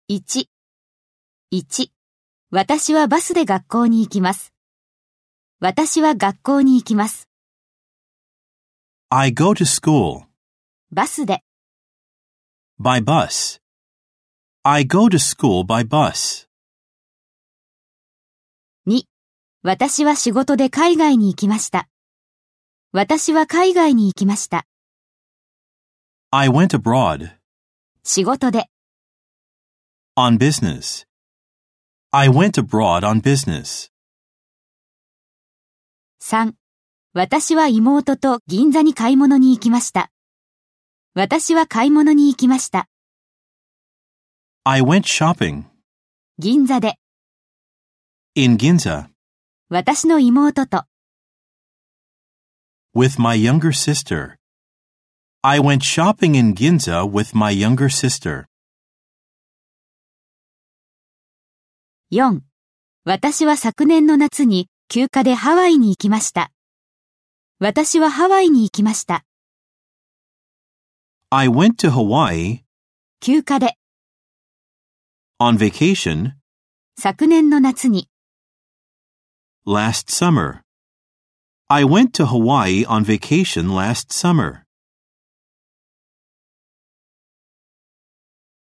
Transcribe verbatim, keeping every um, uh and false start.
いち、いち、私はバスで学校に行きます。私は学校に行きます。 I go to school. バスで。 By bus. I go to school by bus. に、私は仕事で海外に行きました。私は海外に行きました。 I went abroad. 仕事で。 On business. I went abroad on business. さん、私は妹と銀座に買い物に行きました。私は買い物に行きました。 I went shopping. 銀座で。 In Ginza. 私の妹と。 With my younger sister. I went shopping in Ginza with my younger sister. よん、私は昨年の夏に休暇でハワイに行きました。私はハワイに行きました。 I went to Hawaii. 休暇で。 On vacation. 昨年の夏に。 Last summer. I went to Hawaii on vacation last summer.